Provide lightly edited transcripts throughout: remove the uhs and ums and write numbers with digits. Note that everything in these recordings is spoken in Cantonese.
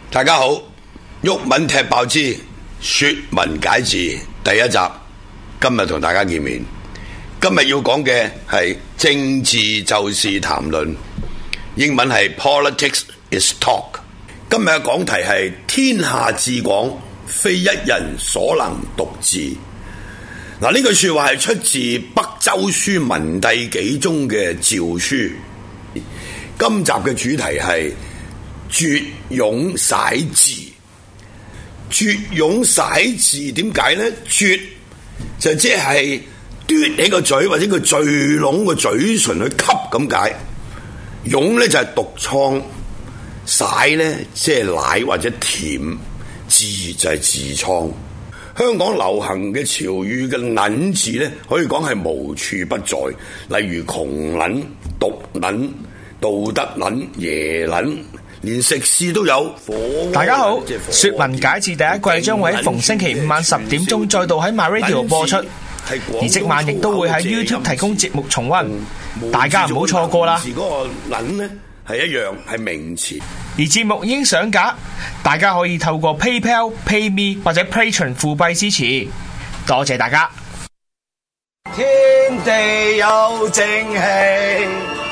大家好，毓民踢爆之說文解字第一集，今日同大家見面。今日要講嘅係政治就是談論，英文係 Politics is Talk。今日嘅講題係天下至廣，非一人所能獨治。嗱，呢句說話係出自北周書文帝紀中嘅詔書。今集嘅主題係絕涌使字。絕涌使字點解呢？絕就即係嘟起個嘴或者個聚攏個嘴唇去吸咁解。涌呢就係毒瘡，使呢即係奶或者甜，痔就係痔瘡。香港流行嘅潮語嘅撚字呢，可以講係無處不在，例如窮撚、毒撚、道德撚、耶撚，連食肆都有。 大家好，說文解字第一季將會喺逢星期五晚10點鐘再度喺 MyRadio 播出，而即晚亦都會喺 YouTube 提供節目重溫，大家唔好錯過啦。 嗰個撚呢係一樣係名詞， 而節目已經上架，大家可以透過 PayPal、PayMe 或者 Patreon 付幣支持，多謝大家。 天地有正氣，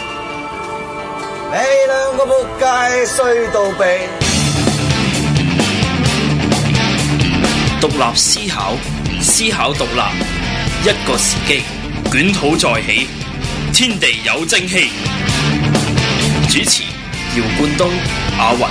你兩個仆街衰到痹。 獨立思考，思考獨立，一個時機，捲土再起，天地有正氣。主持姚冠東、阿雲。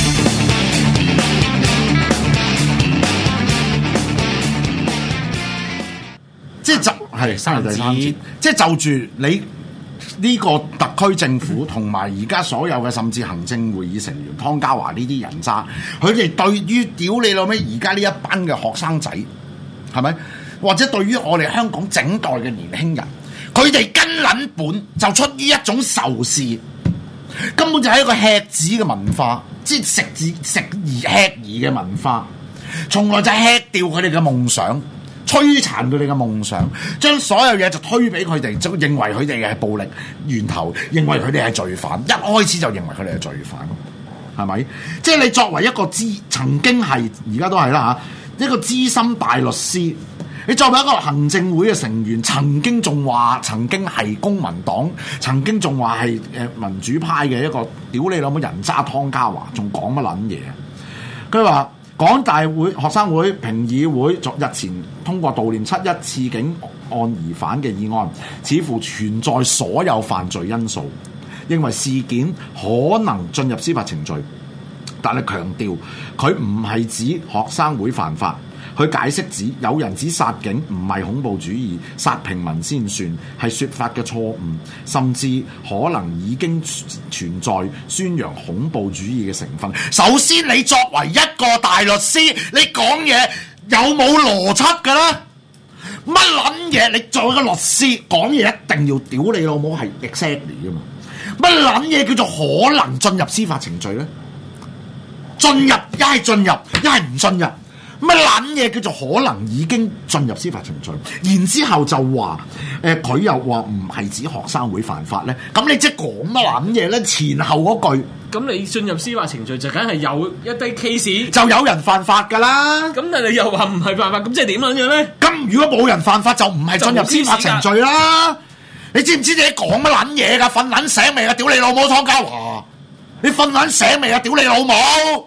即係係生日第三節，即係就住你呢個特區政府同埋而家所有嘅甚至行政會議成員湯家驊呢啲人渣，佢哋對於屌你老味而家呢一班嘅學生仔係咪？或者對於我哋香港整代嘅年輕人，佢哋根撚本就出於一種仇視。根本就係一個吃子嘅文化，即係食而吃兒嘅文化，從來就係吃掉佢哋嘅夢想，摧殘佢哋嘅夢想，將所有嘢就推俾佢哋，就認為佢哋係暴力源頭，認為佢哋係罪犯，一開始就認為佢哋係罪犯，係咪？即係你作為一個曾經係而家都係啦嚇，一個資深大律師。你作為一個行政會嘅成員，曾經仲話曾經係公民黨，曾經仲話係民主派嘅一個屌你老母人渣湯家驊，仲講乜撚嘢？佢話港大會學生會評議會日前通過悼念7·1刺警案疑犯嘅議案，似乎存在所有犯罪因素，認為事件可能進入司法程序，但係強調佢唔係指學生會犯法。佢解釋指有人指殺警唔係恐怖主義，殺平民先算，係説法嘅錯誤，甚至可能已經存在宣揚恐怖主義嘅成分。首先，你作為一個大律師，你講嘢有冇邏輯㗎啦？乜撚嘢？你作為一個律師講嘢一定要屌你老母係 exactly 㗎嘛？乜撚嘢叫做可能進入司法程序咧？進入一係進入，一係唔進入。乜撚嘢叫做可能已經進入司法程序？然之後就話佢又話唔係指學生會犯法咧。咁你即係講乜撚嘢咧？前後嗰句， 咁你進入司法程序就梗係有一啲 case 就有人犯法㗎啦。 咁但係你又話唔係犯法，咁即係點樣咧？ 咁如果冇人犯法，就唔係進入司法程序啦。你知唔知你講乜撚嘢㗎？瞓撚醒未啊？屌你老母湯家驊！你瞓撚醒未啊？屌你老母！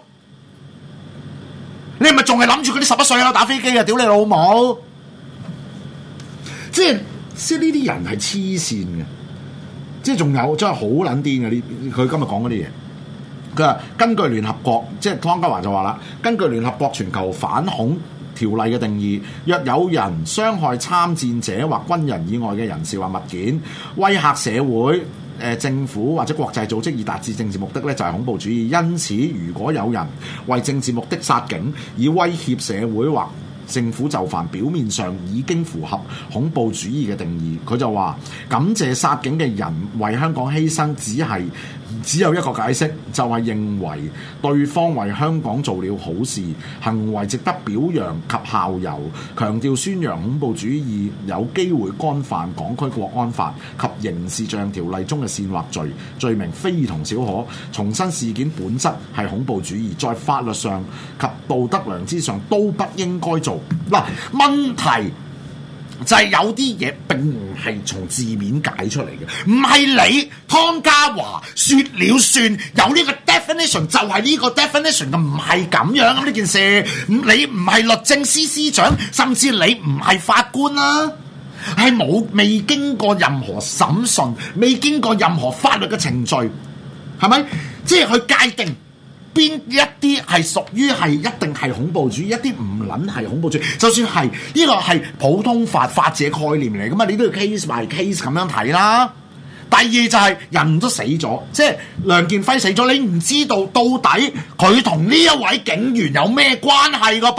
你係咪仲係諗住嗰啲11歲啊打飛機啊？屌你老母！即係呢啲人係黐線嘅，即係仲有真係好撚癲嘅呢！佢今日講嗰啲嘢，佢話根據聯合國，即係湯家驊就話啦，根據聯合國全球反恐條例嘅定義，若有人傷害參戰者或軍人以外嘅人士或物件，威嚇社會、政府或者國際組織以達至政治目的咧，就係恐怖主義。因此，如果有人為政治目的殺警，以威脅社會或政府就範，表面上已經符合恐怖主義嘅定義。佢就話感謝殺警嘅人為香港犧牲，只係只有一個解釋，就係認為對方為香港做了好事，行為值得表揚及效尤，強調宣揚恐怖主義有機會干犯港區國安法及刑事罪行條例中嘅煽惑罪，罪名非同小可。重申事件本質係恐怖主義，在法律上及道德良知上都不應該做。嗱，問題就係有啲嘢並唔係從字面解出嚟嘅，唔係你湯家驊説了算，有呢個 definition 就係呢個 definition 嘅，唔係咁樣咁呢件事。你唔係律政司司長，甚至你唔係法官啦，係未經過任何審訊，未經過任何法律嘅程序，係咪？即係去界定邊一啲係屬於係一定係恐怖主義，一啲唔撚係恐怖主義。就算係呢個係普通法者概念嚟噶嘛，你都要 case by case 咁樣睇啦。第二就係人都死咗，即係梁建輝死咗，你唔知道到底佢同呢一位警員有咩關係噶噃？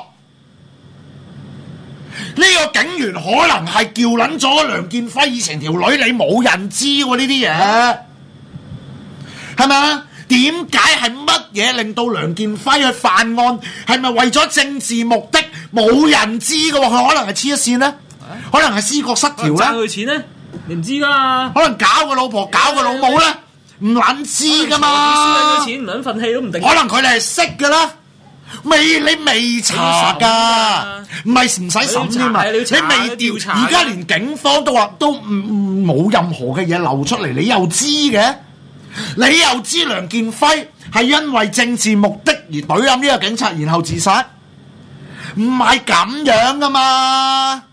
呢個警員可能係叫撚咗梁建輝以前條女，你冇人知喎呢啲嘢，係咪啊？點解係乜嘢令到梁建輝去犯案？係咪為咗政治目的？冇人知嘅喎，佢可能係黐一線咧，可能係思覺失調咧， 賺佢錢咧，你唔知噶嘛？ 可能搞個老婆搞個老母咧，唔撚知噶嘛？ 輸咗錢唔撚憤氣都唔定。 可能佢哋係識噶啦，你未查噶，唔係唔使審添嘛？你未調查，而家連警方都話都冇任何嘅嘢流出嚟，你又知嘅？你又知梁建輝係因為政治目的而懟冧呢個警察，然後自殺？唔係咁樣噶嘛，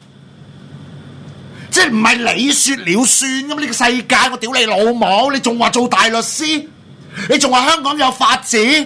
即係唔係你說了算咁？呢個世界我屌你老母，你仲話做大律師，你仲話香港有法治？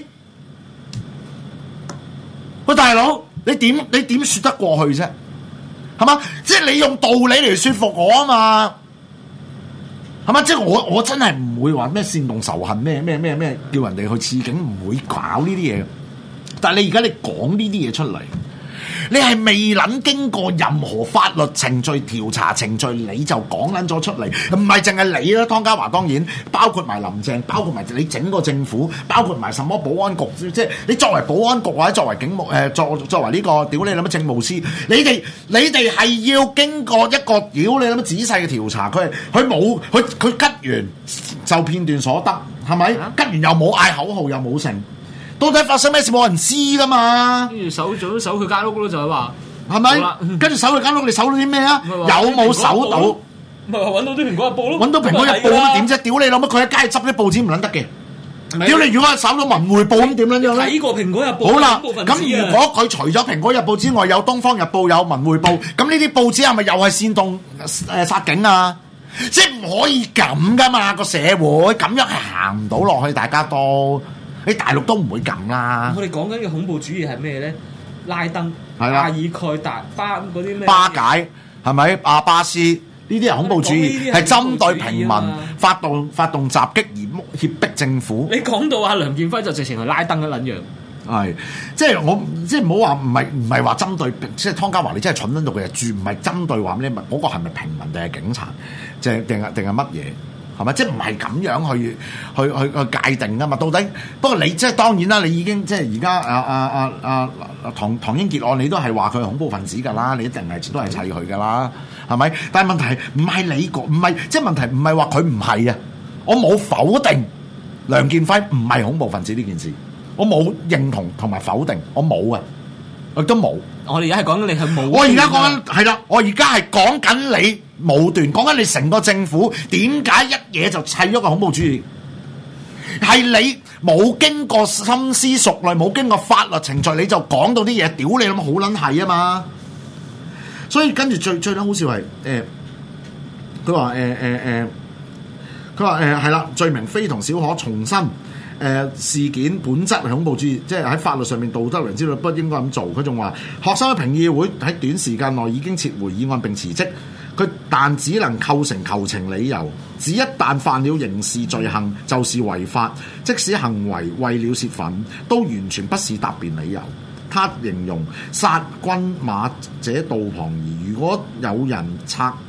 喂，大佬，你點說得過去啫？係嘛？即係你用道理嚟說服我啊嘛？係嘛？即係我真係唔會話咩煽動仇恨咩叫人哋去刺警，唔會搞呢啲嘢。但係你而家你講呢啲嘢出嚟，你係未撚經過任何法律程序、調查程序，你就講撚咗出嚟，唔係淨係你啦，湯家驊當然包括埋林鄭，包括埋你整個政府，包括埋什麼保安局，即係你作為保安局或者作為警務作為呢個屌你諗乜政務司，你哋係要經過一個屌你諗乜仔細嘅調查，佢吉完就片段所得，係咪？吉完又冇嗌口號，又冇成。到底發生咩事冇人知噶嘛？ 跟住搜佢間屋咯，就係話係咪？跟住搜佢間屋，你搜到啲咩啊？有冇搜到？ 咪話揾到啲蘋果日報咯？ 揾到蘋果日報咁點啫？屌你老乜！佢喺街執啲報紙唔撚得嘅。屌你！如果搜到文匯報咁點撚樣咧？ 睇過蘋果日報。 好啦，咁如果佢除咗蘋果日報之外，有東方日報、有文匯報，咁呢啲報紙係咪又係煽動殺警啊？即係唔可以咁噶嘛！個社會咁樣係行唔到落去，大家都。你大陸都唔會咁啦。 我哋講緊嘅恐怖主義係咩咧？拉登、 阿爾蓋達、巴嗰啲咩？ 巴解係咪？阿巴斯呢啲係恐怖主義，係針對平民發動襲擊而脅迫政府。 你講到阿梁建輝就直情係拉登嘅撚樣。 係，即係我即係唔好話唔係話針對，即係湯家驊你真係蠢撚到佢住，唔係針對話咩？嗰個係咪平民定係警察？定係乜嘢？係咪？即係唔係咁樣去界定㗎嘛？到底不過你即係當然啦，你已經即係而家唐英傑案，你都係話佢係恐怖分子㗎啦，你一定係都係砌佢㗎啦，係咪？但係問題唔係你講，唔係即係問題唔係話佢唔係啊！我冇否定梁建輝唔係恐怖分子呢件事，我冇認同同埋否定，我冇啊，我亦都冇。我哋而家係講緊你係冇。我而家講緊係啦，我而家係講緊你。武斷講緊你成個政府點解一嘢就砌咗個恐怖主義？係你冇經過深思熟慮，冇經過法律程序，你就講到啲嘢，屌你諗好撚係啊嘛！所以跟住最撚好笑係佢話佢話係啦，罪名非同小可，重申事件本質係恐怖主義，即係喺法律上面道德良知不應該咁做。佢仲話學生嘅評議會喺短時間內已經撤回議案並辭職。佢但只能構成求情理由，只一旦犯了刑事罪行就是違法，即使行為為了泄憤，都完全不是答辯理由。他形容殺君馬者道旁兒，如果有人拆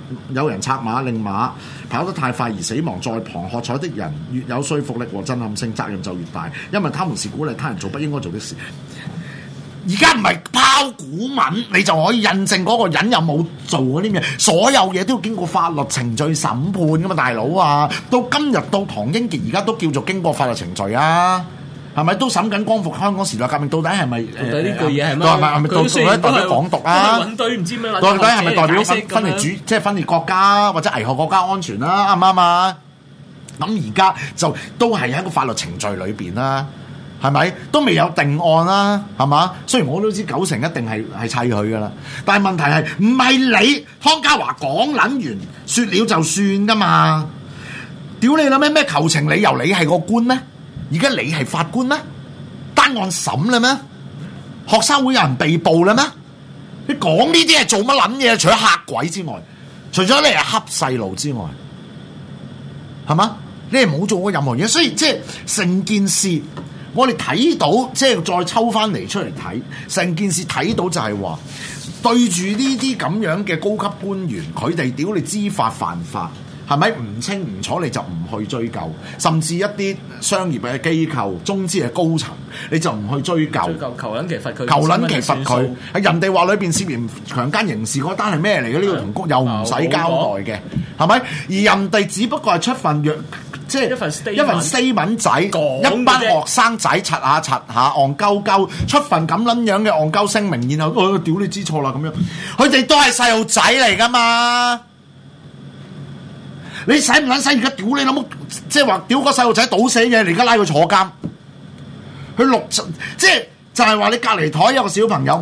有人策馬令馬跑得太快而死亡，在旁喝彩的人越有說服力和震撼性，責任就越大，因為他們是鼓勵他人做不應該做的事。而家唔係拋股文，你就可以印證嗰個人有冇做嗰啲嘢，所有嘢都要經過法律程序審判噶嘛，大佬啊！到今日到唐英傑而家都叫做經過法律程序啊！係咪都審緊光復香港時代革命？到底係咪？到底呢句嘢係乜？ 係咪到底代表港獨啊？ 揾堆唔知咩？ 到底係咪代表分裂即係分裂國家或者危害國家安全啦？啱唔啱啊？咁而家就都係喺個法律程序裏邊啦，係咪？都未有定案啦，係嘛？雖然我都知90%一定係砌佢噶啦，但係問題係唔係你湯家驊講撚完説了就算噶嘛？屌你諗咩求情理由？你係個官咩？而家你係法官咩？單案審啦咩？學生會有人被捕啦咩？你講呢啲係做乜撚嘢？除咗嚇鬼之外，除咗你係恰細路之外，係嘛？你係冇做過任何嘢，所以即係成件事，我哋睇到即係再抽翻嚟出嚟睇，成件事睇到就係話，對住呢啲咁樣嘅高級官員，佢哋屌你知法犯法。係咪唔清唔楚你就唔去追究？甚至一啲商業嘅機構、中資嘅高層，你就唔去追究？ 求撚其罰佢， 求撚其罰佢。係人哋話裏邊涉嫌強姦刑事嗰單係咩嚟嘅？呢個同谷又唔使交代嘅，係咪？而人哋只不過係出份即係一份 statement 仔，一班學生仔柒下戇鳩鳩出份咁撚樣嘅戇鳩聲明，然後屌你知錯啦咁樣，佢哋都係細路仔嚟㗎嘛。你使唔撚使？而家屌你老母，即係話屌個細路仔倒死嘢，你而家拉佢坐監，佢即係就係話你隔離台有個小朋友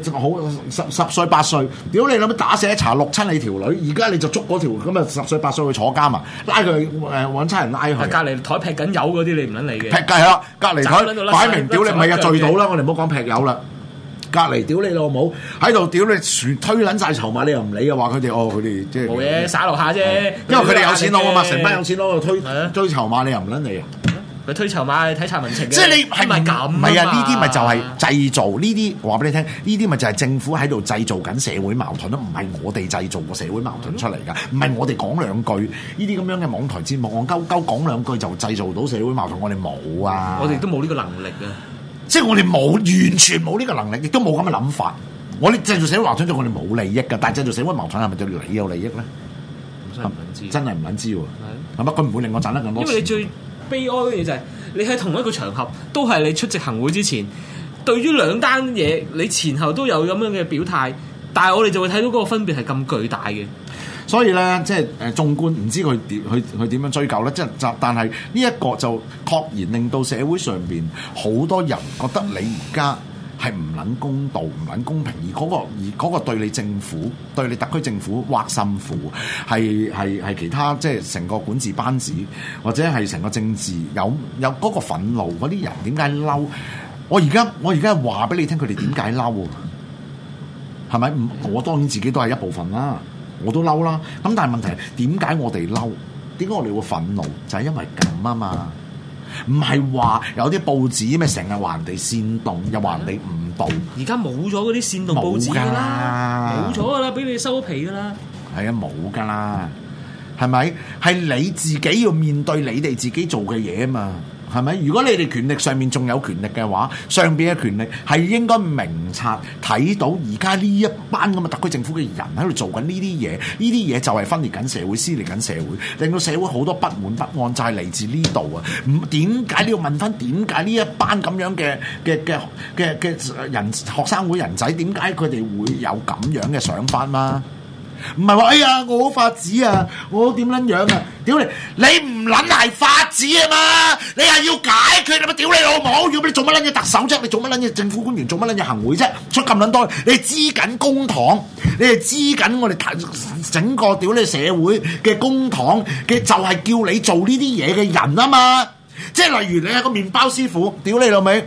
10歲8歲，屌你老母打死一查6親你條女，而家你就捉嗰條咁啊10歲8歲去坐監啊，拉佢揾差人拉佢。隔離台劈緊油嗰啲你唔撚理嘅。劈係啦，隔離台擺明屌你咪啊醉到啦，我哋唔好講劈油啦。隔離屌你老母喺度屌你，全推撚晒籌碼，你又唔理嘅話，佢哋即係冇嘢耍落下啫。 因為佢哋有錢攞啊嘛，成班有錢攞去推籌碼，你又唔撚理啊？ 佢推籌碼睇查民情嘅， 即係你係咪咁？唔係啊，呢啲咪就係製造呢啲話俾你聽，呢啲咪就係政府喺度製造緊社會矛盾咯，唔係我哋製造個社會矛盾出嚟㗎，唔係我哋講兩句呢啲咁樣嘅網台節目，戇鳩鳩講兩句就製造到社會矛盾，我哋冇啊！ 我哋都冇呢個能力啊！ 即係我哋完全冇呢個能力，亦都冇咁嘅諗法。我哋製造社會矛盾對我哋冇利益㗎，但係製造社會矛盾係咪對你有利益咧？真係唔撚知喎，係咪？佢唔會令我賺得更多錢。 因為你最悲哀嘅嘢就係你喺同一個場合，都係你出席行會之前，對於兩單嘢，你前後都有咁樣嘅表態，但係我哋就會睇到嗰個分別係咁巨大嘅。 所以咧，即係縱觀唔知佢點樣追究咧，即係但係呢一個就確然令到社會上邊好多人覺得你而家係唔撚公道、唔撚公平，而嗰個對你政府、對你特區政府挖心苦，係其他即係成個管治班子或者係成個政治有嗰個憤怒嗰啲人點解嬲？我而家話俾你聽，佢哋點解嬲？係咪？我當然自己都係一部分啦。我都嬲啦，咁但係問題係點解我哋嬲？點解我哋會憤怒？就係因為咁啊嘛，唔係話有啲報紙咩成日話人哋煽動，又話人哋誤導。而家冇咗嗰啲煽動報紙㗎啦，冇咗㗎啦，俾你收皮㗎啦。 係啊，冇㗎啦，係咪？係你自己要面對你哋自己做嘅嘢啊嘛。係咪？如果你哋權力上面仲有權力嘅話，上邊嘅權力係應該明察睇到而家呢一班咁嘅特區政府嘅人喺度做緊呢啲嘢，呢啲嘢就係分裂緊社會、撕裂緊社會，令到社會好多不滿不安，就係嚟自呢度啊！點解你要問翻點解呢一班咁樣嘅人學生會人仔點解佢哋會有咁樣嘅想法嘛？唔係話哎呀我好法子啊，我點撚樣啊？屌你！你唔撚係法子啊嘛？你係要解決你咪屌你老母！要你做乜撚嘢特首啫？你做乜撚嘢政府官員？做乜撚嘢行會啫？出咁撚多，你係支緊公帑，你係支緊我哋整個屌你社會嘅公帑嘅，就係叫你做呢啲嘢嘅人啊嘛！即係例如你係個麵包師傅，屌你老味！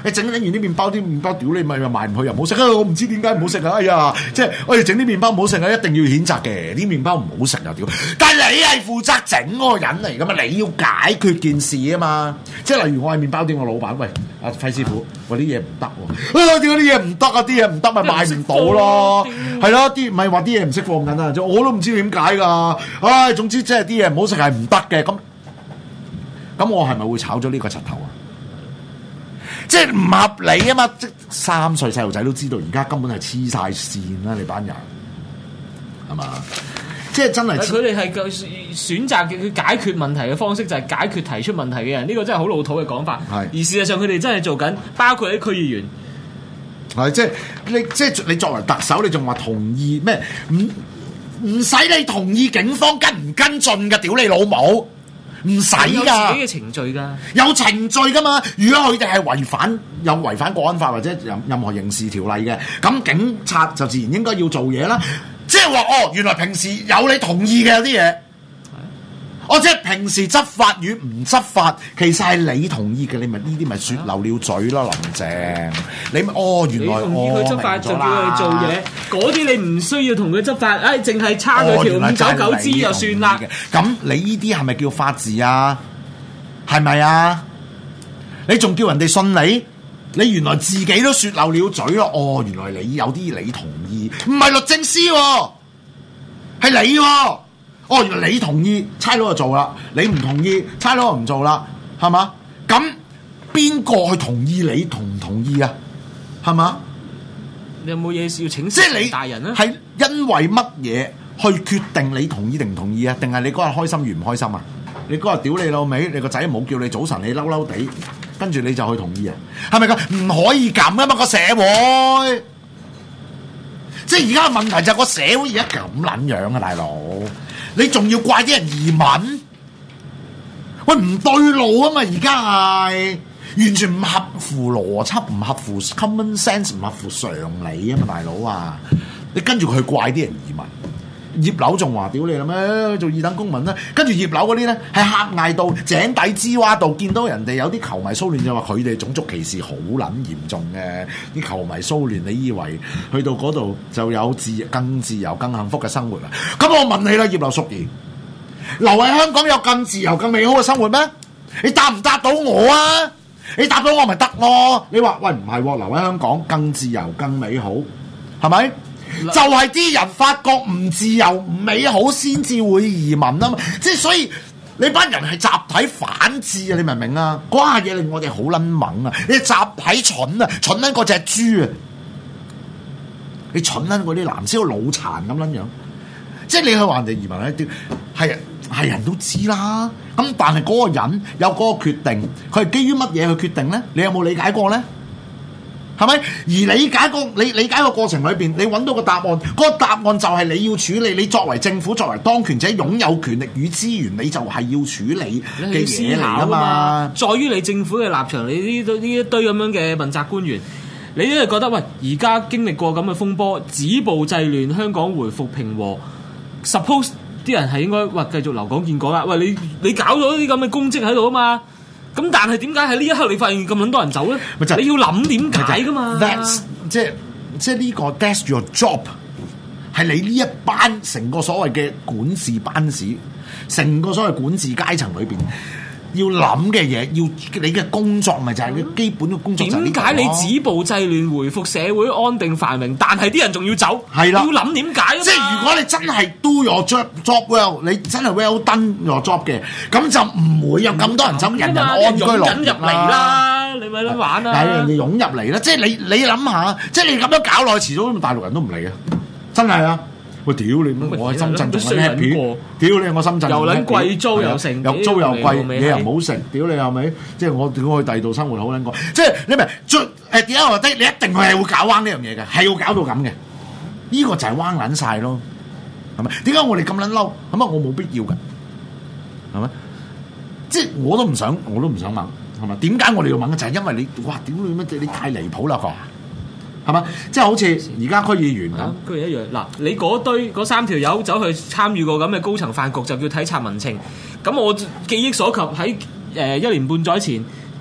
你整完啲麵包屌你咪賣唔去又唔好食啊！我唔知點解唔好食啊！哎呀，即係我哋整啲麵包唔好食啊，一定要譴責嘅，啲麵包唔好食啊屌！但係你係負責整嗰個人嚟噶嘛，你要解決件事啊嘛！即係例如我係麵包店個老闆，喂阿費師傅，喂啲嘢唔得喎，點解啲嘢唔得啊？啲嘢唔得咪賣唔到咯，係咯，啲唔係話啲嘢唔識放緊啊，我都唔知點解㗎。唉，總之即係啲嘢唔好食係唔得嘅，咁我係咪會炒咗呢個柒頭啊？即係唔合理啊嘛！即3歲細路仔都知道，而家根本係黐晒線啦！你班人係嘛？即係真係佢哋係選擇嘅佢解決問題嘅方式，就係解決提出問題嘅人。呢個真係好老土嘅講法。係，而事實上佢哋真係做緊，包括啲區議員。 係即係你作為特首，你仲話同意咩？唔使你同意警方跟唔跟進嘅，屌你老母！唔使㗎， 有自己嘅程序㗎， 有程序㗎嘛。如果佢哋係違反國安法或者任何刑事條例嘅，咁警察就自然應該要做嘢啦。即係話原來平時有你同意嘅有啲嘢，即係平時執法與唔執法，其實係你同意嘅，你咪呢啲咪説漏了嘴咯，林鄭。你原來你同意佢執法就叫佢做嘢，嗰啲你唔需要同佢執法，淨係差佢條599支就算啦。 咁你呢啲係咪叫法治啊？係咪啊？你仲叫人哋信你？你原來自己都説漏了嘴咯。原來你有啲你同意，唔係律政司喎，係你喎。原來你同意，差佬就做啦；你唔同意，差佬就唔做啦，係嘛？咁邊個去同意你同唔同意啊？係嘛？ 你有冇嘢要請即係你大人啊？ 係因為乜嘢去決定你同意定唔同意啊？定係你嗰日開心與唔開心啊？你嗰日屌你老味，你個仔冇叫你早晨，你嬲嬲地，跟住你就去同意啊？係咪㗎？唔可以咁啊嘛，個社會。即係而家嘅問題就係個社會而家咁撚樣啊，大佬！你仲要怪啲人移民？喂，唔對路啊嘛！而家係完全唔合乎邏輯，唔合乎 common sense， 唔合乎常理啊嘛，大佬啊！你跟住佢怪啲人移民。葉劉仲話：屌你啦咩？做二等公民啦！跟住葉劉嗰啲咧係狹隘到井底之蛙度，見到人哋有啲球迷騷亂就話佢哋種族歧視好撚嚴重嘅。啲球迷騷亂，你以為去到嗰度就有更自由、更幸福嘅生活啊？咁我問你啦，葉劉淑儀，留喺香港有更自由、更美好嘅生活咩？你答唔答到我啊？你答到我咪得咯？你話喂唔係喎，留喺香港更自由、更美好，係咪？就係啲人發覺唔自由唔美好先至會移民啊嘛，即係所以你班人係集體反智啊！你明唔明啊？嗰下嘢令我哋好撚猛啊！你集體蠢啊，蠢撚過隻豬啊！你蠢撚過啲藍絲腦殘咁撚樣，即係你去話人哋移民一啲係人都知啦。咁但係嗰個人有嗰個決定，佢係基於乜嘢去決定咧？你有冇理解過咧？係咪？而你理解個過程裏邊，你揾到個答案，嗰個答案就係你要處理。你作為政府，作為當權者，擁有權力與資源，你就係要處理嘅嘢嚟啊嘛。 在於你政府嘅立場，你呢一堆咁樣嘅問責官員，你都係覺得喂，而家經歷過咁嘅風波，止暴制亂，香港回復平和。Suppose 啲人係應該繼續留港建港啦。喂，你搞咗啲咁嘅公職喺度啊嘛。咁但係點解喺呢一刻你發現咁撚多人走咧？你要諗點解噶嘛？ 即係呢個 that's your job， 係你呢一班成個所謂嘅管治班子，成個所謂管治階層裏邊要諗嘅嘢，要你嘅工作咪就係你基本嘅工作。 點解你止暴制亂，回復社會安定繁榮，但係啲人仲要走？係啦，要諗點解啊？ 即係如果你真係 do your job well， 你真係 well done your job 嘅，咁就唔會有咁多人走，人人安居樂業入嚟啦。你咪諗玩啦， 但係人哋湧入嚟啦，即係你諗下，即係你咁樣搞落去，遲早大陸人都唔嚟啊！真係啊！喂，屌你！我喺深圳仲喺 happy， 屌你！我深圳又撚貴租又成， 又租又貴，嘢又唔好食，屌你係咪？即係我點解去第二度生活好撚過？即係你咪點解話你一定係會搞彎呢樣嘢嘅，係要搞到咁嘅。呢個就係彎撚晒咯，係咪？點解我哋咁撚嬲？咁啊，我冇必要嘅，係咪？即係我都唔想問，係咪？點解我哋要問？就係因為你哇！屌你乜？你太離譜啦！係嘛？即係好似而家區議員咁， 區議員一樣。嗱，你嗰3條友走去參與過咁嘅高層飯局，就叫體察民情。咁我記憶所及喺1年半載前，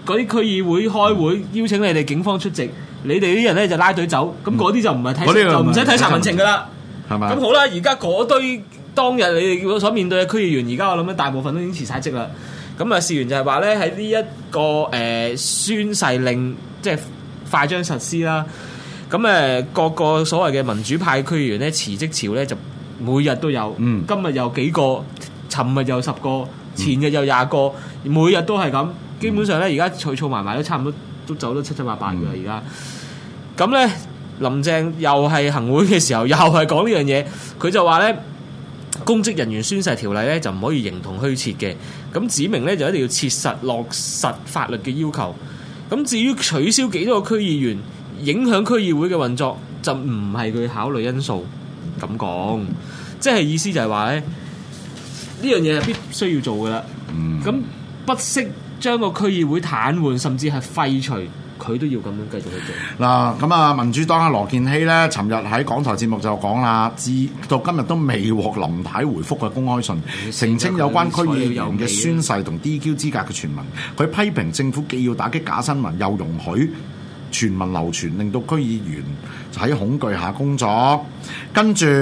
嗰啲區議會開會邀請你哋警方出席，你哋啲人咧就拉隊走，咁嗰啲就唔係睇，就唔使睇查民情噶啦， 係咪？ 咁好啦，而家嗰堆當日你哋所面對嘅區議員，而家我諗大部分都已經辭晒職啦。咁啊，事緣就係話咧喺呢一個宣誓令即係快將實施啦。咁各個所謂嘅民主派區議員咧辭職潮咧就每日都有，今日有幾個，尋日有10個，前日有20個，每日都係咁。基本上咧，而家儲埋埋都差唔多都走得七七八八㗎啦。而家咁咧，林鄭又係行會嘅時候，又係講呢樣嘢，佢就話咧，公職人員宣誓條例咧就唔可以形同虛設嘅，咁指明咧就一定要切實落實法律嘅要求。咁至於取消幾多個區議員，影響區議會嘅運作，就唔係佢考慮因素。咁講，即係意思就係話咧，呢樣嘢係必須要做㗎啦。咁不惜將個區議會癱瘓，甚至係廢除，佢都要咁樣繼續去做。 嗱，咁啊，民主黨阿羅健熙咧，尋日喺港台節目就講啦，至到今日都未獲林太回覆嘅公開信，澄清有關區議員嘅宣誓同 DQ 資格嘅傳聞。佢批評政府既要打擊假新聞，又容許傳聞流傳，令到區議員喺恐懼下工作。跟住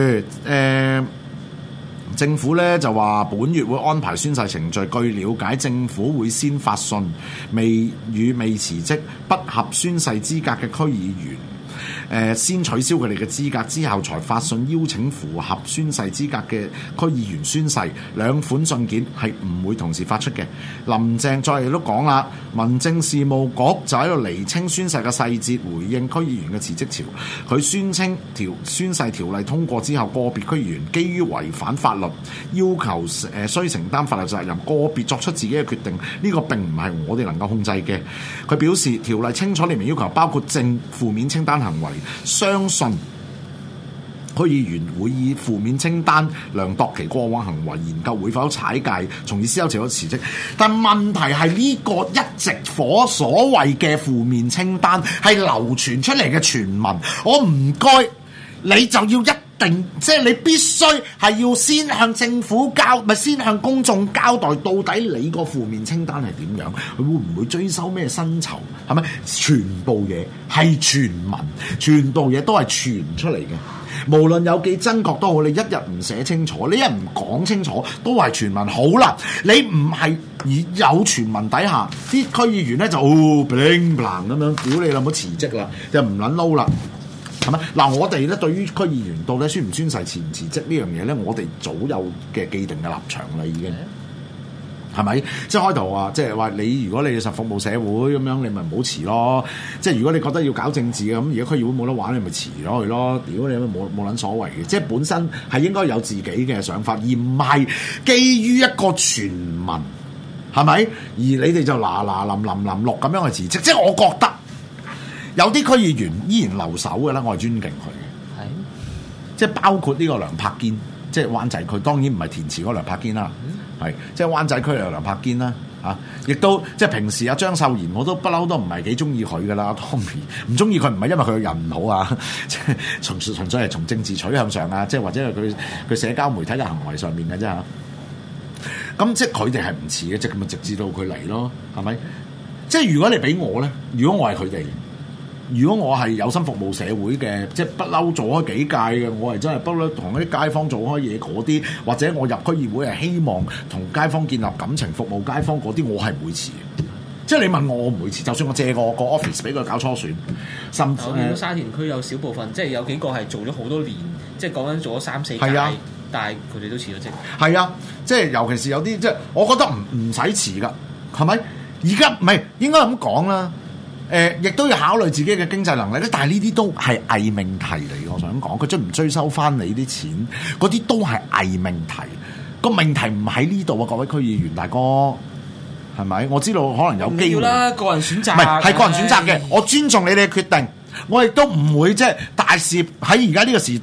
政府咧就話本月會安排宣誓程序。據了解，政府會先發信未辭職不合宣誓資格嘅區議員，先取消佢哋嘅資格，之後才發信邀請符合宣誓資格嘅區議員宣誓。兩款信件係唔會同時發出嘅。林鄭再亦都講啦，民政事務局就喺度釐清宣誓嘅細節，回應區議員嘅辭職潮。佢宣稱宣誓條例通過之後，個別區議員基於違反法律，要求須承擔法律責任，個別作出自己嘅決定，呢個並唔係我哋能夠控制嘅。佢表示條例清楚列明要求，包括正負面清單行為，相信區議員會以負面清單量度其過往行為，研究會否踩界，從而思考前後辭職。但問題係呢個一直所謂嘅負面清單係流傳出嚟嘅傳聞，我唔該你就要一定，即係你必須係要先向政府先向公眾交代，到底你個負面清單係點樣？佢會唔會追收咩薪酬？係咪？全部嘢係傳聞，全部嘢都係傳出嚟嘅。無論有幾真確都好，你一日唔寫清楚，你一日唔講清楚，都係傳聞。好啦，你唔係有傳聞底下，啲區議員咧就bling bling咁樣，屌你老母辭職啦，就唔撚撈啦。係咪？嗱，我哋咧對於區議員到底宣唔宣誓、辭唔辭職呢樣嘢咧，我哋早有嘅既定嘅立場啦，已經係咪？即係開頭話，即係話你如果你實服務社會咁樣，你咪唔好辭咯。即係如果你覺得要搞政治嘅，咁而家區議會冇得玩，你咪辭咗佢咯。屌你冇撚所謂嘅，即係本身係應該有自己嘅想法，而唔係基於一個傳聞，係咪？而你哋就臨落咁樣去辭職，即係我覺得。有啲區議員依然留守嘅啦，我係尊敬佢嘅，即係包括呢個梁柏堅，即係灣仔區，當然唔係填詞嗰個梁柏堅啦，係即係灣仔區有梁柏堅啦，亦都即係平時阿張秀賢我都不嬲都唔係幾中意佢噶啦，Tommy 唔中意佢唔係因為佢個人唔好啊，即係純粹係從政治取向上啊，即係或者係佢社交媒體嘅行為上面嘅啫嚇。咁即係佢哋係唔似嘅，即係咁啊，直至到佢嚟咯，係咪？即係如果你俾我咧，如果我係佢哋。如果我係有心服務社會嘅，即係不嬲做開幾屆嘅，我係真係不嬲同啲街坊做開嘢嗰啲，或者我入區議會係希望同街坊建立感情、服務街坊嗰啲，我係唔會辭嘅。即係你問我唔會辭，就算我借個 office 俾佢搞初選，甚至我見到沙田區有少部分，即係有幾個係做咗好多年，即係講緊做咗3-4屆，但係佢哋都辭咗職。係啊，即係尤其是有啲即係，我覺得唔使辭㗎，係咪？而家唔係應該咁講啦。亦都要考慮自己嘅經濟能力咧，但係呢啲都係偽命題嚟嘅。我想講，佢追唔追收翻你啲錢，嗰啲都係偽命題。個命題唔喺呢度啊，各位區議員大哥，係咪？我知道可能有機會啦，個人選擇， 唔係個人選擇嘅。我尊重你哋嘅決定，我亦都唔會即係大肆喺而家呢個時代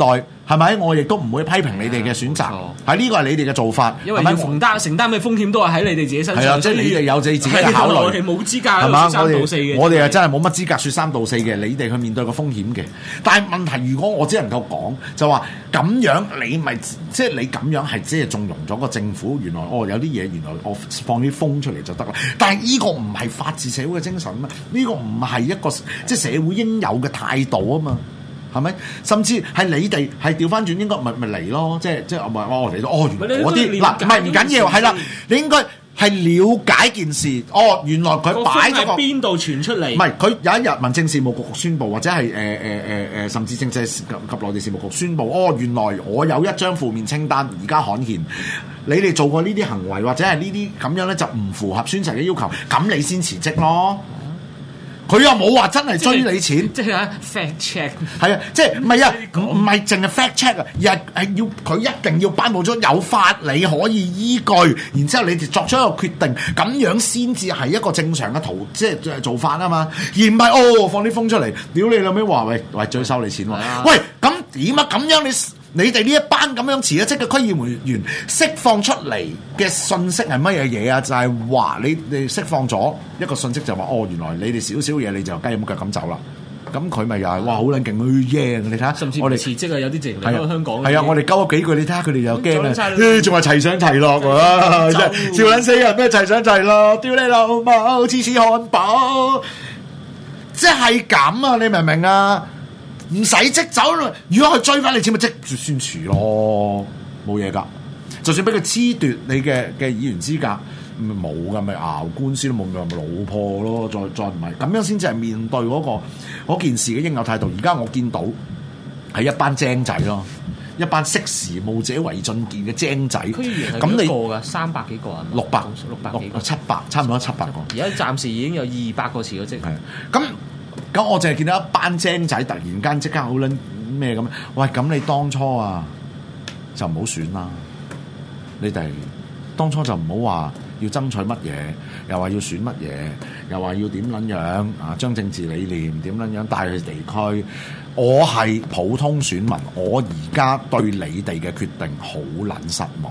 係咪？我亦都唔會批評你哋嘅選擇，係呢個係你哋嘅做法， 因為要承擔嘅風險都係喺你哋自己身上。 係啊，即係你哋有自己嘅考慮。 我哋冇資格係嘛？ 説三道四嘅。 我哋係真係冇乜資格説三道四嘅。你哋去面對個風險嘅。但係問題，如果我只能夠講，就話咁樣你咪即係你咁樣係即係縱容咗個政府。原來有啲嘢原來我放啲風出嚟就得啦。但係呢個唔係法治社會嘅精神啊嘛，呢個唔係一個即係社會應有嘅態度啊嘛。係咪？甚至係你哋係調翻轉，應該咪嚟咯？即係我嚟到原來嗰啲嗱，唔係唔緊要，係啦，你應該係了解件事。原來佢擺咗個邊度傳出嚟？ 唔係佢有一日民政事務局宣佈，或者係甚至政制及內地事務局宣佈，原來我有一張負面清單，而家刊憲。你哋做過呢啲行為，或者係呢啲咁樣咧，就唔符合宣誓嘅要求，咁你先辭職咯。佢又冇話真係追你錢， 即係 fact check 係啊，即係唔係啊？唔係淨係 fact check 啊，而係要佢一定要頒布咗有法理可以依據，然之後你哋作出一個決定，咁樣先至係一個正常嘅即係做法啊嘛，而唔係放啲風出嚟，屌你老味話喂追收你錢喎，喂咁點啊？咁樣你哋呢一班咁樣辭咗職嘅區議員釋放出嚟嘅信息係乜嘢嘢啊？就係話你釋放咗一個信息，就話原來你哋少少嘢你就雞咁腳咁走啦。咁佢咪又係好撚勁去你睇下， 甚至我哋辭職有啲直離開香港。 係啊，我哋鳩咗幾句，你睇下佢哋又驚啊！仲係齊上齊落喎，笑撚死人咩？齊上齊落，屌你老母，次次漢堡，即係咁啊！你明唔明啊？唔使即走，如果佢追翻你錢，咪即算辭咯，冇嘢噶。就算俾佢褫奪你嘅議員資格，冇噶，咪熬官司都冇，咪老破咯。再唔係咁樣先至係面對嗰件事嘅應有態度。而家我見到係一班精仔咯，一班識時務者為俊傑嘅精仔。 區議員係幾個㗎？300幾個啊？600幾個 ，700差唔多700個。 而家暫時已經有200個辭咗職。 咁我淨係見到一班精仔突然間即刻好撚咩咁？喂，咁你當初啊就唔好選啦！你哋當初就唔好話要爭取乜嘢，又話要選乜嘢，又話要點撚樣啊？將政治理念點撚樣帶去地區。我係普通選民，我而家對你哋嘅決定好撚失望。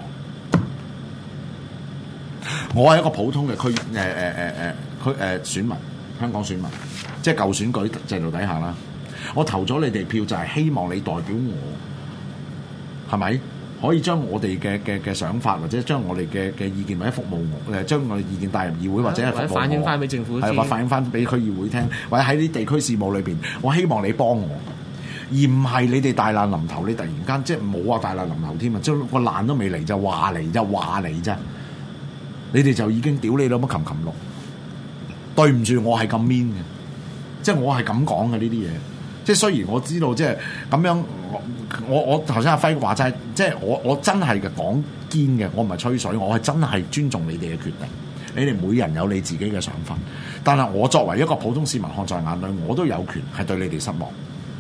我係一個普通嘅選民，香港選民。即係舊選舉制度底下啦，我投咗你哋票就係希望你代表我，係咪可以將我哋嘅想法或者將我哋嘅意見或者服務我將我哋意見帶入議會或者係反映翻俾政府， 係反映翻俾區議會聽，或者喺啲地區事務裏邊，我希望你幫我，而唔係你哋大難臨頭，你突然間即係冇話大難臨頭添啊，將個難都未嚟就話嚟啫，你哋就已經屌你老母擒落，對唔住，我係咁 mean 嘅。即係我係咁講嘅呢啲嘢，即係雖然我知道即係咁樣，我頭先阿輝話齋，即係我真係嘅講堅嘅，我唔係吹水，我係真係尊重你哋嘅決定，你哋每人有你自己嘅想法，但係我作為一個普通市民看在眼裏，我都有權係對你哋失望。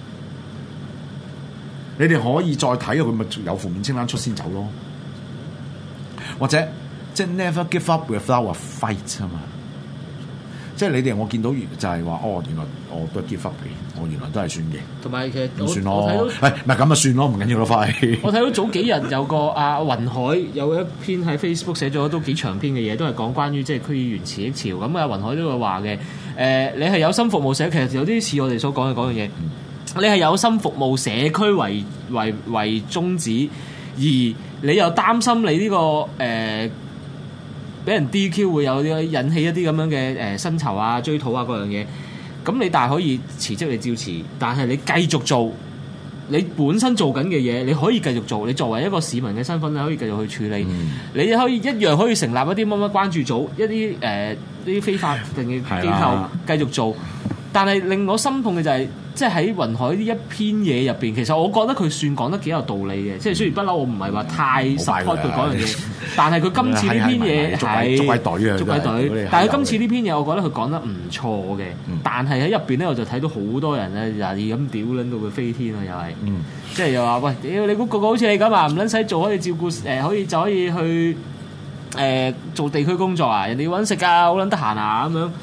你哋可以再睇佢咪有負面清單出先走咯，或者即係 never give up without a fight 啊嘛。即係你哋，我見到就係話，原來我都係 give up 嘅，我原來都係算嘅。 同埋其實咁算咯，唔係咁啊算咯，唔緊要咯，快。 我睇到早幾日有個雲海有一篇喺 Facebook 寫咗都幾長篇嘅嘢，都係講關於即係區議員辭職潮。咁雲海都會話嘅，你係有心服務社，其實有啲似我哋所講嘅嗰樣嘢。你係有心服務社區為宗旨，而你又擔心你呢個俾人 DQ 會有啲引起一啲咁樣嘅薪酬啊、追討啊嗰樣嘢，咁你大可以辭職，你照辭，但係你繼續做你本身做緊嘅嘢，你可以繼續做。你作為一個市民嘅身份，你可以繼續去處理。你可以一樣可以成立一啲乜乜關注組，一啲呢啲非法定嘅機構繼續做。但係令我心痛嘅就係，即係喺雲海呢一篇嘢入邊，其實我覺得佢算講得幾有道理嘅。即係雖然不嬲，我唔係話太 support 佢講樣嘢，但係佢今次呢篇嘢係捉鬼隊。但係佢今次呢篇嘢，我覺得佢講得唔錯嘅。但係喺入邊咧，我就睇到好多人咧，又係咁屌撚到佢飛天啊！又係，即係又話喂，屌你估個個好似你咁啊，唔撚使做可以照顧可以就可以去做地區工作啊？人哋要揾食啊，好撚得閒啊咁樣。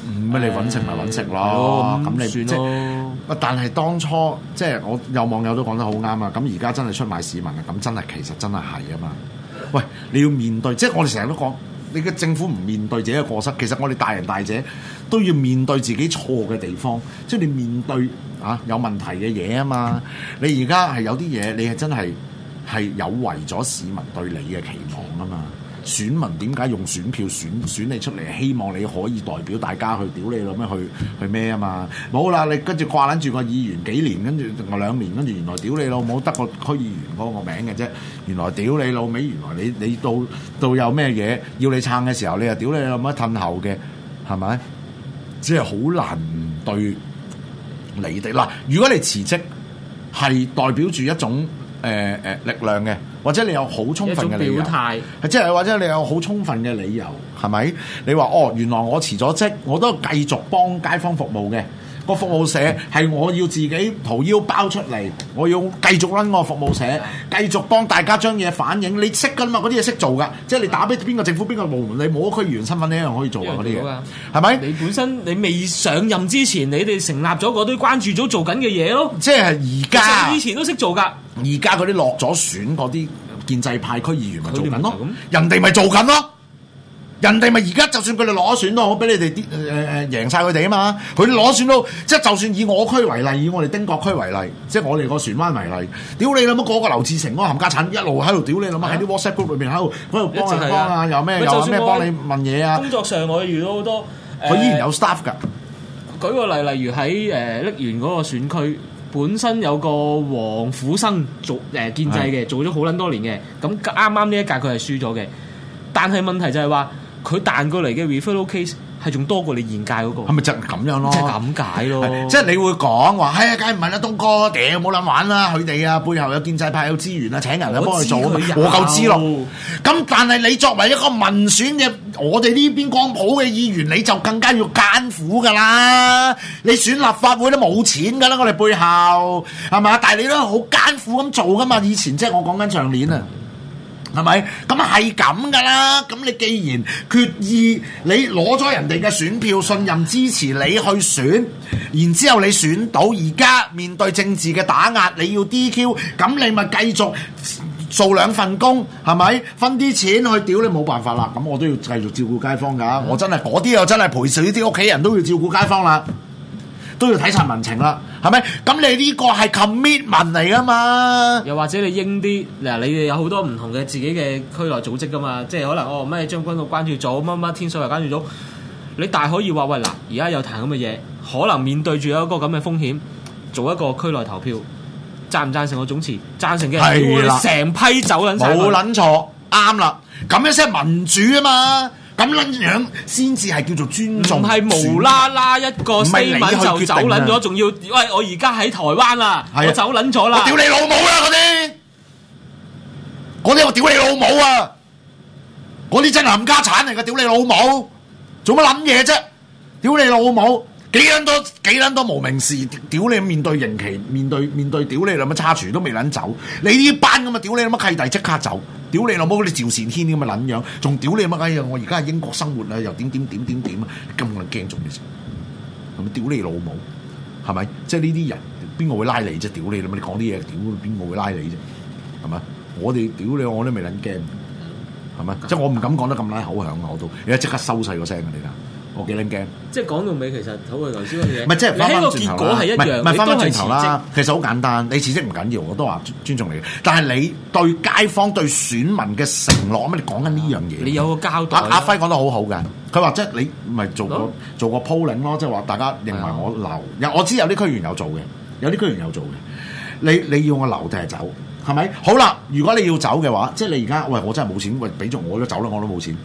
咁你揾食咪揾食咯，咁你算咯。 但係當初即係我有網友都講得好啱啊！咁而家真係出賣市民啊！咁真係其實真係係啊嘛！喂，你要面對，即係我哋成日都講，你嘅政府唔面對自己嘅過失，其實我哋大人大姐都要面對自己錯嘅地方，即係你面對有問題嘅嘢啊嘛！你而家係有啲嘢，你係真係有違咗市民對你嘅期望啊嘛！選民點解用選票選你出嚟？希望你可以代表大家去屌你老咩去咩啊嘛？冇啦，你跟住掛撚住個議員幾年，跟住2年，跟住原來屌你老母得個區議員嗰個名嘅啫。原來屌你老味，原來你到有咩嘢要你撐嘅時候，你又屌你老母褪後嘅，係咪？即係好難對你哋嗱。如果你辭職係代表住一種力量嘅，或者你有好充分嘅理由，表態，即係或者你有好充分嘅理由，係咪？你話原來我辭咗職，我都繼續幫街坊服務嘅。個服務社係我要自己掏腰包出嚟，我要繼續搵我服務社，繼續幫大家將嘢反映。你識㗎嘛？嗰啲嘢識做㗎，即係你打俾邊個政府邊個部門，你冇區議員身份，你一樣可以做啊！嗰啲嘢係咪？ 你本身你未上任之前，你哋成立咗嗰堆關注組做緊嘅嘢咯。 即係而家以前都識做㗎， 而家嗰啲落咗選嗰啲建制派區議員咪做緊咯，人哋咪做緊咯。人哋咪而家就算佢哋攞選都好，俾你哋贏晒佢哋啊嘛！佢哋攞選都即係就算以我區為例，以我哋丁角區為例，即係我哋個船灣為例，屌你諗乜嗰個劉志成嗰個冚家產一路喺度屌你諗乜喺啲 WhatsApp group 裏邊喺度幫人幫啊，有咩幫你問嘢啊？ 工作上我遇到好多佢依然有 staff 㗎。 舉個例，例如喺瀝源嗰個選區，本身有個黃虎生做建制嘅，做咗好撚多年嘅，咁啱呢一屆佢係輸咗嘅，但係問題就係話。佢彈過嚟嘅 referral case 係仲多過你現屆嗰個， 係咪就係咁樣咯？ 即係咁解咯。 即係你會講話，係啊，梗係唔係啦，東哥，屌冇諗玩啦！佢哋啊，背後有建制派有資源啊，請人啊幫佢做，我夠知咯。咁但係你作為一個民選嘅，我哋呢邊光譜嘅議員，你就更加要艱苦㗎啦。你選立法會都冇錢㗎啦，我哋背後係嘛？但係你都好艱苦咁做㗎嘛。以前即係我講緊上年啊。係咪？咁係咁噶啦。咁你既然決意你攞咗人哋嘅選票，信任支持你去選，然之後你選到，而家面對政治嘅打壓，你要 DQ， 咁你咪繼續做2份工，係咪？分啲錢去屌你冇辦法啦。咁我都要繼續照顧街坊㗎。我真係嗰啲又真係陪死啲屋企人都要照顧街坊啦。都要睇晒民情啦，係咪？咁你呢個係 commitment 嚟噶嘛？ 又或者你應啲嗱，你哋有好多唔同嘅自己嘅區內組織噶嘛？即係可能咩將軍澳關注組，乜乜天水圍關注組，你大可以話喂嗱，而家有談咁嘅嘢，可能面對住有一個咁嘅風險，做一個區內投票，贊唔贊成個總辭？贊成嘅人成批走撚晒， 冇撚錯，啱啦，咁樣先係民主啊嘛！咁撚樣先至係叫做尊重， 唔係無啦啦一個 statement 就走撚咗，仲要喂我而家喺台灣啦，我走撚咗啦， 我屌你老母啦嗰啲我屌你老母啊！嗰啲真係冚家產嚟㗎，屌你老母！做乜撚嘢啫？屌你老母！幾撚多無名氏，屌你面對刑期，面對屌你老母叉廚都未撚走，你呢班咁啊屌你老母契弟即刻走，屌你老母嗰啲趙善軒咁嘅撚樣，仲屌你乜鬼嘢？我而家喺英國生活啊，又點啊，咁撚驚做咩事？係咪屌你老母？係咪？即係呢啲人邊個會拉你啫？屌你老母！你講啲嘢，屌邊個會拉你啫？係咪？我哋屌你，我都未撚驚，係咪？即係我唔敢講得咁拉口響啊！我都而家即刻收細個聲啊！你睇。我幾撚驚！即係講到尾，其實好似頭先嗰啲嘢， 唔係即係翻返轉頭啦。 結果係一樣， 唔係翻返轉頭啦。 啦。其實好簡單，你辭職唔緊要，我都話尊重你。但係你對街坊、對選民嘅承諾，乜你講緊呢樣嘢？ 你有個交代。 阿輝講得好好嘅，佢話即係你咪做個 polling 咯，即係話大家認為我留。我知有啲區議員有做嘅，有啲區議員有做嘅。你要我留定係走？係咪？好啦，如果你要走嘅話，即係你而家喂我真係冇錢，喂俾咗我都走啦，我都冇錢。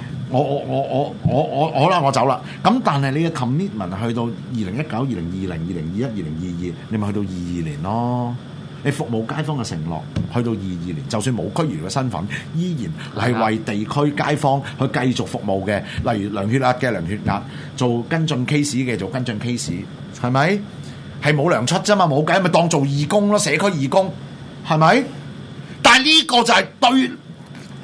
我好啦，我走啦。咁但係你嘅 commitment 去到2019、2020、2021、2022，你咪去到22年咯。你服務街坊嘅承諾去到22年，就算冇區議員嘅身份，依然係為地區街坊去繼續服務嘅。例如量血壓嘅量血壓，做跟進 case 嘅做跟進 case， 係咪？係冇糧出啫嘛，冇計咪當做義工咯，社區義工係咪？但係呢個就係對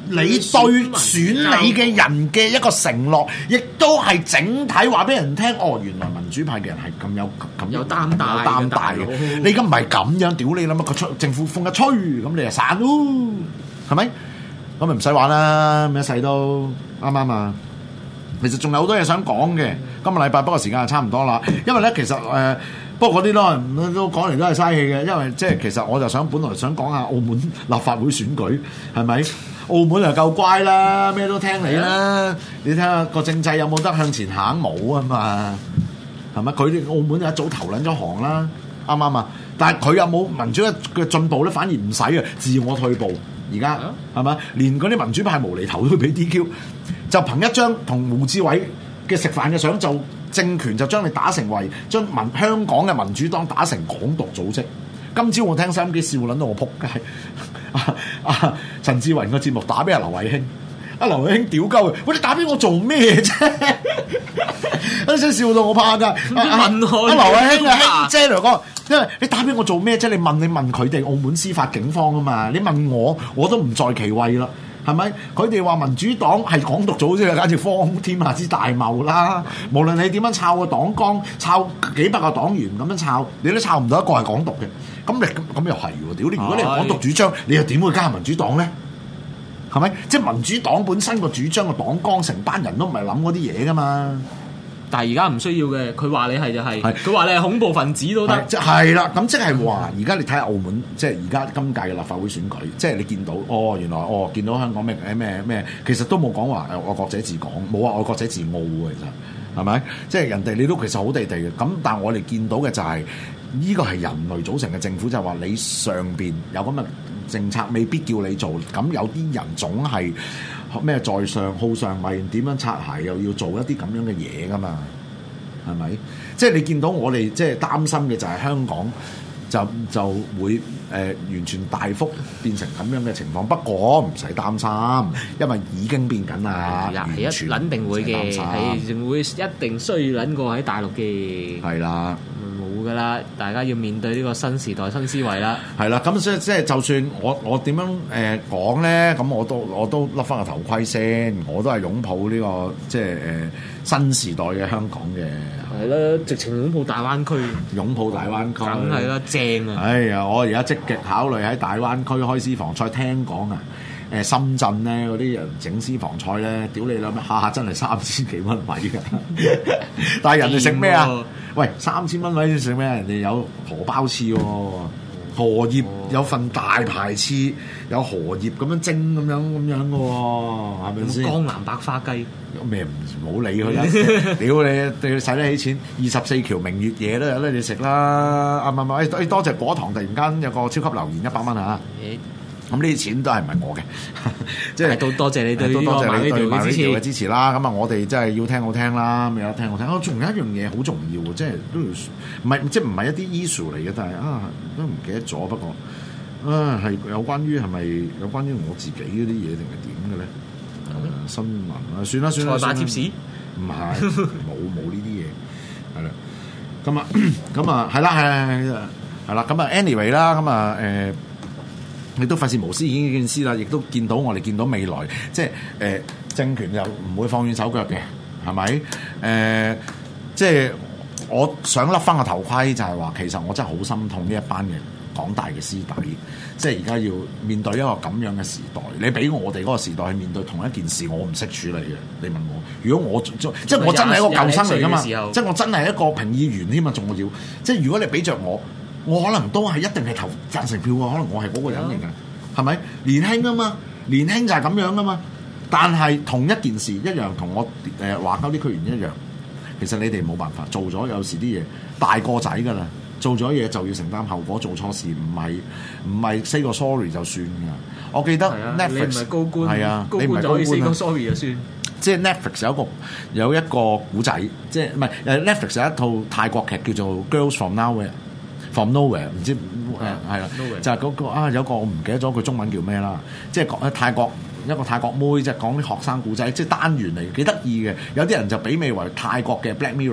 你對選你嘅人嘅一個承諾，亦都係整體話俾人聽。哦，原來民主派嘅人係咁有擔帶嘅。你而家唔係咁樣，屌你啦乜個政府風一吹，咁你就散咯，係咪？咁咪唔使玩啦，一世都啱啱啊！其實仲有好多嘢想講嘅，今個禮拜不過時間就差唔多啦。因為咧，其實不過嗰啲都講嚟都係嘥氣嘅，因為即係其實我就本來想講下澳門立法會選舉係咪？澳門就夠乖啦，咩都聽你啦。你睇下個政制有冇得向前行冇啊嘛？係咪？佢哋澳門就一早投撚咗行啦，啱唔啱啊？但係佢有冇民主嘅進步咧？反而唔使啊，自我退步。而家係咪？連嗰啲民主派無厘頭都俾 DQ， 就憑一張同胡志偉嘅食飯嘅相，就政權就將你打成為將香港嘅民主黨打成港獨組織。今朝我聽收音機笑撚到我仆街。陳志雲個節目打俾阿劉慧卿，阿劉慧卿屌鳩佢，喂，你打俾我做咩啫？一聲笑到我怕㗎。阿劉慧卿啊，卿姐嚟講，因為你打俾我做咩啫？你問佢哋澳門司法警方啊嘛？你問我都唔在其位啦，係咪？佢哋話民主黨係港獨組織，簡直荒天下之大謬啦！無論你點樣抄個黨綱，抄幾百個黨員咁樣抄，你都抄唔到一個係港獨嘅。咁又係喎，屌你！如果你係港獨主張，你又點會加入民主黨咧？係咪？即係民主黨本身個主張個黨綱，成班人都唔係諗嗰啲嘢噶嘛。 但係而家唔需要嘅，佢話你係就係，佢話你係恐怖分子都得。 係啦，咁即係話，而家你睇下澳門，即係而家今屆嘅立法會選舉，即係你見到，原來見到香港咩，其實都冇講話愛國者治港，冇話愛國者治澳喎，其實係咪？即係人哋你都其實好地地嘅，咁但係我哋見到嘅就係呢個係人類組成嘅政府，就係話你上邊有咁嘅政策，未必叫你做，咁有啲人總係。咩在上好上位，點樣擦鞋又要做一啲咁樣嘅嘢噶嘛？係咪？即係你見到我哋即係擔心嘅就係香港就會完全大幅變成咁樣嘅情況。不過唔使擔心，因為已經變緊啦。 係一撚定會嘅，係仲會一定衰撚過喺大陸嘅。係啦。冇噶啦，大家要面對呢個新時代新思維啦。 係啦，咁所以即係就算我點樣講咧，咁我都笠翻個頭盔先，我都係擁抱呢個即係新時代嘅香港嘅。 係啦，直情擁抱大灣區， 擁抱大灣區， 梗係啦，正啊！ 哎呀，我而家積極考慮喺大灣區開私房菜，聽講啊。深圳咧嗰啲人整私房菜咧，屌你啦咩？下真係3000幾蚊位㗎，但係人哋食咩啊？喂，3000蚊位食咩？人哋有荷包翅喎，荷葉有份大排翅，有荷葉咁樣蒸咁樣嘅喎，係咪先？ 江南百花雞咩唔好理佢啦！屌你使得起錢，24條明月夜都有得你食啦！唔，多謝果糖突然間有個超級留言100蚊嚇。咁呢啲錢都係唔係我嘅，即係都多謝你對呢個MyRadio嘅支持啦。咁啊，我哋真係要聽好聽啦，咁有聽好聽。仲有一樣嘢好重要喎，即係都要唔係一啲 issue 嚟嘅，但係都唔記得咗。不過係有關於係咪有關於我自己嗰啲嘢定係點嘅咧？新聞啊，算啦。 財馬貼士唔係冇呢啲嘢係啦。咁啊係啦。咁啊 anyway 啦，咁啊亦都費事無私已經件事啦，亦都見到我哋見到未來，即係政權又唔會放軟手腳嘅，係咪？即係我想笠翻個頭盔，就係話其實我真係好心痛呢一班嘅港大嘅師弟，即係而家要面對一個咁樣嘅時代。你俾我哋嗰個時代去面對同一件事，我唔識處理嘅。你問我，如果我即係我真係一個舊生嚟㗎嘛，即係我真係一個評議員添嘛，仲要即係如果你俾着我可能都係一定係投贊成票啊！可能我係嗰個人嚟㗎，係咪？年輕啊嘛，年輕就係咁樣啊嘛。但係同一件事一樣，同我華交啲區員一樣。其實你哋冇辦法做咗，有時啲嘢大個仔㗎啦，做咗嘢就要承擔後果。做錯事唔係 say 個 sorry 就算㗎。我記得 Netflix 你唔係高官， 係啊， 高官就可以 say 個 sorry 就算。 即係 Netflix 有一個古仔，即係唔係Netflix 有一套泰國劇叫做《Girls from Nowhere》，唔知係啦，就係嗰個有個我唔記得咗佢中文叫咩啦，即係講泰國一個泰國妹，即係講啲學生古仔，即係單元嚟，幾得意嘅。有啲人就比美為泰國嘅 Black Mirror，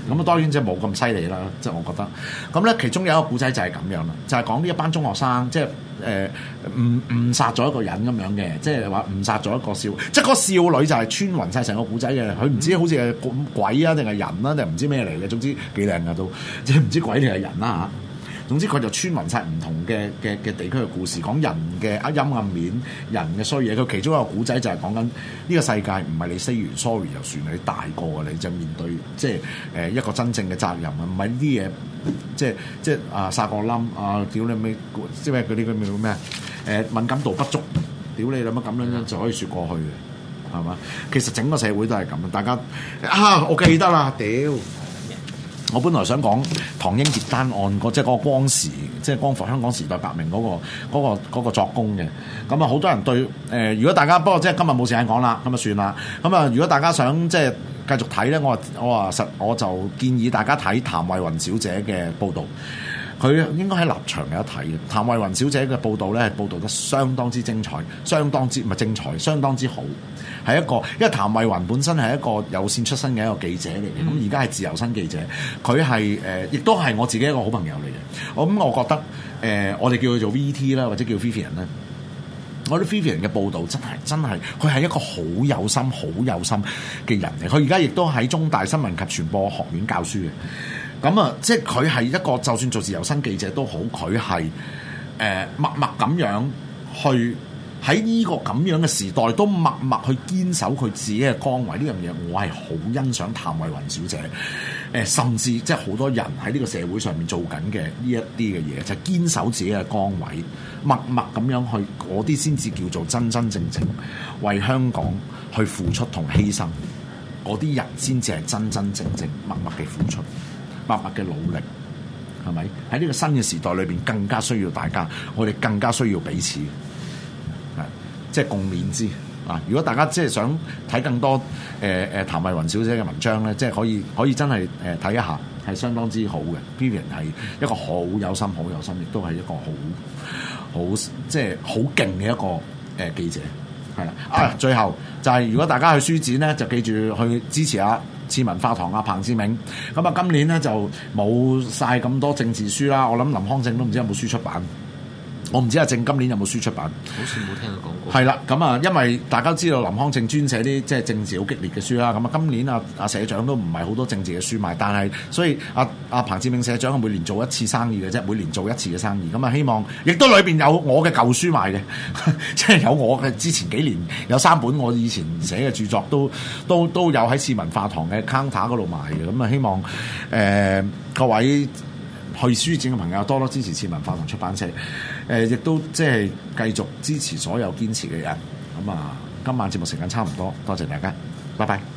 咁啊當然即係冇咁犀利啦，即係我覺得。咁咧其中有一個古仔就係咁樣啦，就係講呢一班中學生即係誤殺咗一個人咁樣嘅，即係話誤殺咗一個即係嗰個少女就係穿勻晒成個古仔嘅，佢唔知好似係鬼啊定係人啊定係唔知咩嚟嘅，總之幾靚噶都，即係唔知鬼定係人啦嚇。總之佢就穿勻晒唔同嘅地區嘅故事，講人嘅陰暗面、人嘅衰嘢。佢其中一個古仔就係講緊呢個世界唔係你 say 完 sorry 就算，你大個你就面對即係一個真正嘅責任啊！唔係呢啲嘢即係啊殺個冧啊屌你咩即係嗰啲叫咩敏感度不足，屌你諗乜咁樣就可以説過去嘅係嘛？其實整個社會都係咁，大家我記得啦，屌！我本來想講唐英傑單案即係嗰個光時，即係光復香港時代革命嗰個作工嘅。咁啊，好多人對如果大家不過即係今日冇時間講啦，咁啊算啦。咁啊，如果大家想即係繼續睇咧，我就建議大家睇譚慧雲小姐嘅報導。佢應該喺立場有得睇嘅。譚慧雲小姐嘅報導咧，係報導得相當之精彩，相當之好。係一個，因為譚慧雲本身係一個有線出身嘅一個記者嚟嘅，咁而家係自由身記者，佢係亦都係我自己一個好朋友嚟嘅。我覺得我哋叫佢做 VT 啦，或者叫 Vivian 啦。我覺得 Vivian 嘅報導真係，佢係一個好有心嘅人嚟。佢而家亦都喺中大新聞及傳播學院教書嘅。咁啊，即係佢係一個，就算做自由身記者都好，佢係默默咁樣去喺呢個咁樣嘅時代，都默默去堅守佢自己嘅崗位。呢樣嘢我係好欣賞譚慧雲小姐。甚至即係好多人喺呢個社會上面做緊嘅呢一啲嘅嘢，就係堅守自己嘅崗位，默默咁樣去，嗰啲先至叫做真正為香港去付出同犧牲。嗰啲人先至係真正默默嘅付出。默默嘅努力，係咪喺呢個新嘅時代裏邊更加需要大家？我哋更加需要彼此，即係共勉之啊！如果大家即係想睇更多譚慧雲小姐嘅文章咧，即係可以真係睇一下，係相當之好嘅。Vivian 係一個好有心，亦都係一個好即係好勁嘅一個記者，係啦。最後就係如果大家去書展咧，就記住去支持下次文化堂彭志銘。咁啊，今年咧就冇晒咁多政治書啦。我諗林康正都唔知有冇書出版。我唔知阿正今年有冇書出版， 好似冇聽佢講過。 係啦，咁啊，因為大家知道林康正專寫啲即係政治好激烈嘅書啦。咁啊，今年阿社長都唔係好多政治嘅書賣，但係所以阿彭志銘社長每年做一次生意嘅啫，每年做一次嘅生意。咁啊，希望亦都裏邊有我嘅舊書賣嘅，即係有我嘅之前幾年有3本我以前寫嘅著作都有喺次文化堂嘅 counter 嗰度賣嘅。咁啊，希望各位去書展嘅朋友多多支持次文化堂出版社，亦都即係繼續支持所有堅持嘅人。咁啊，今晚節目時間差唔多，多謝大家，拜拜。